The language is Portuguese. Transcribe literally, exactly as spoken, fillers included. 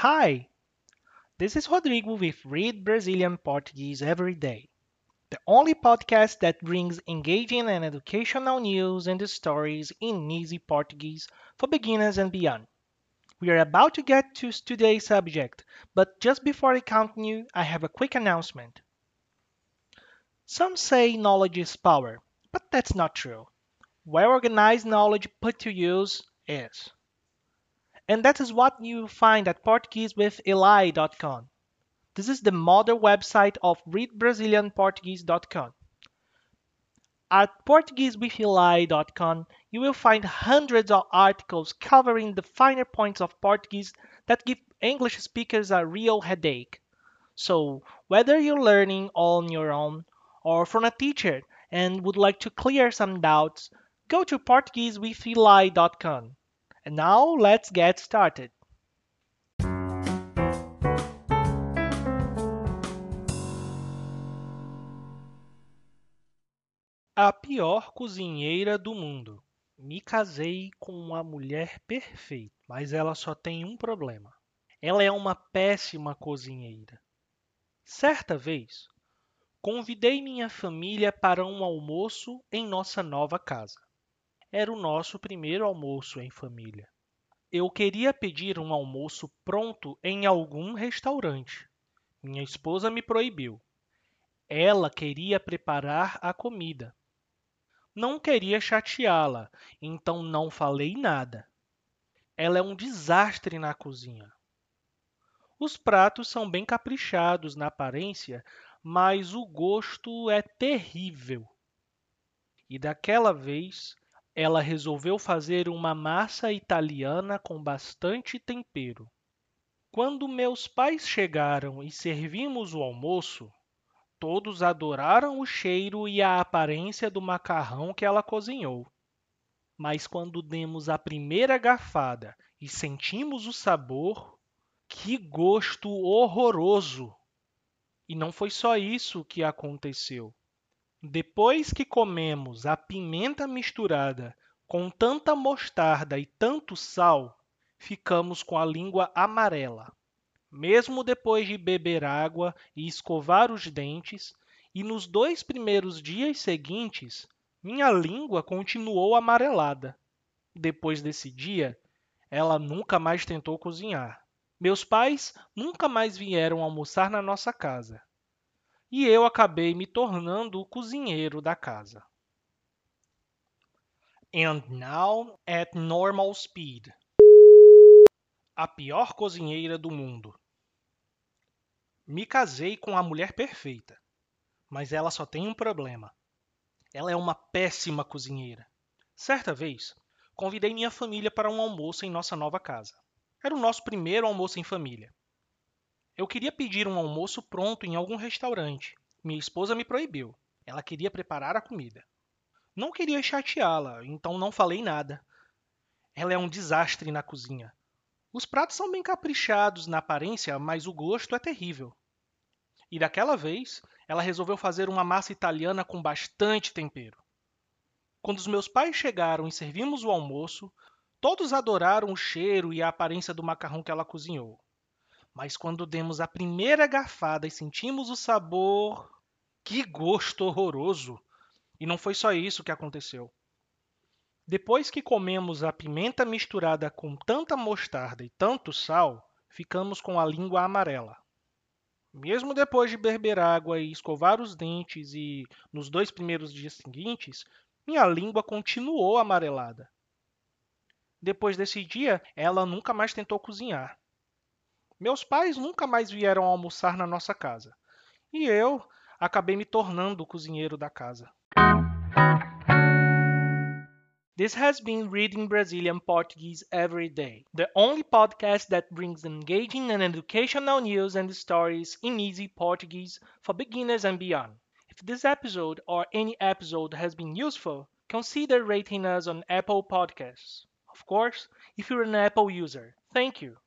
Hi, this is Rodrigo with Read Brazilian Portuguese Every Day, the only podcast that brings engaging and educational news and stories in easy Portuguese for beginners and beyond. We are about to get to today's subject, but just before I continue, I have a quick announcement. Some say knowledge is power, but that's not true. Well organized knowledge put to use is. And that is what you find at Portuguese with Eli dot com. This is the mother website of read brazilian portuguese dot com. At portuguese with eli dot com, you will find hundreds of articles covering the finer points of Portuguese that give English speakers a real headache. So, whether you're learning on your own or from a teacher and would like to clear some doubts, go to portuguese with eli dot com. And now, let's get started. A pior cozinheira do mundo. Me casei com uma mulher perfeita, mas ela só tem um problema. Ela é uma péssima cozinheira. Certa vez, convidei minha família para um almoço em nossa nova casa. Era o nosso primeiro almoço em família. Eu queria pedir um almoço pronto em algum restaurante. Minha esposa me proibiu. Ela queria preparar a comida. Não queria chateá-la, então não falei nada. Ela é um desastre na cozinha. Os pratos são bem caprichados na aparência, mas o gosto é terrível. E daquela vez, ela resolveu fazer uma massa italiana com bastante tempero. Quando meus pais chegaram e servimos o almoço, todos adoraram o cheiro e a aparência do macarrão que ela cozinhou. Mas quando demos a primeira garfada e sentimos o sabor, que gosto horroroso! E não foi só isso que aconteceu. Depois que comemos a pimenta misturada com tanta mostarda e tanto sal, ficamos com a língua amarela. Mesmo depois de beber água e escovar os dentes, e nos dois primeiros dias seguintes, minha língua continuou amarelada. Depois desse dia, ela nunca mais tentou cozinhar. Meus pais nunca mais vieram almoçar na nossa casa. E eu acabei me tornando o cozinheiro da casa. And now at normal speed. A pior cozinheira do mundo. Me casei com a mulher perfeita, mas ela só tem um problema. Ela é uma péssima cozinheira. Certa vez, convidei minha família para um almoço em nossa nova casa. Era o nosso primeiro almoço em família. Eu queria pedir um almoço pronto em algum restaurante. Minha esposa me proibiu. Ela queria preparar a comida. Não queria chateá-la, então não falei nada. Ela é um desastre na cozinha. Os pratos são bem caprichados na aparência, mas o gosto é terrível. E daquela vez, ela resolveu fazer uma massa italiana com bastante tempero. Quando os meus pais chegaram e servimos o almoço, todos adoraram o cheiro e a aparência do macarrão que ela cozinhou. Mas quando demos a primeira garfada e sentimos o sabor, que gosto horroroso! E não foi só isso que aconteceu. Depois que comemos a pimenta misturada com tanta mostarda e tanto sal, ficamos com a língua amarela. Mesmo depois de beber água e escovar os dentes e nos dois primeiros dias seguintes, minha língua continuou amarelada. Depois desse dia, ela nunca mais tentou cozinhar. Meus pais nunca mais vieram almoçar na nossa casa. E eu acabei me tornando o cozinheiro da casa. This has been Reading Brazilian Portuguese Every Day, the only podcast that brings engaging and educational news and stories in easy Portuguese for beginners and beyond. If this episode or any episode has been useful, consider rating us on Apple Podcasts. Of course, if you're an Apple user, thank you.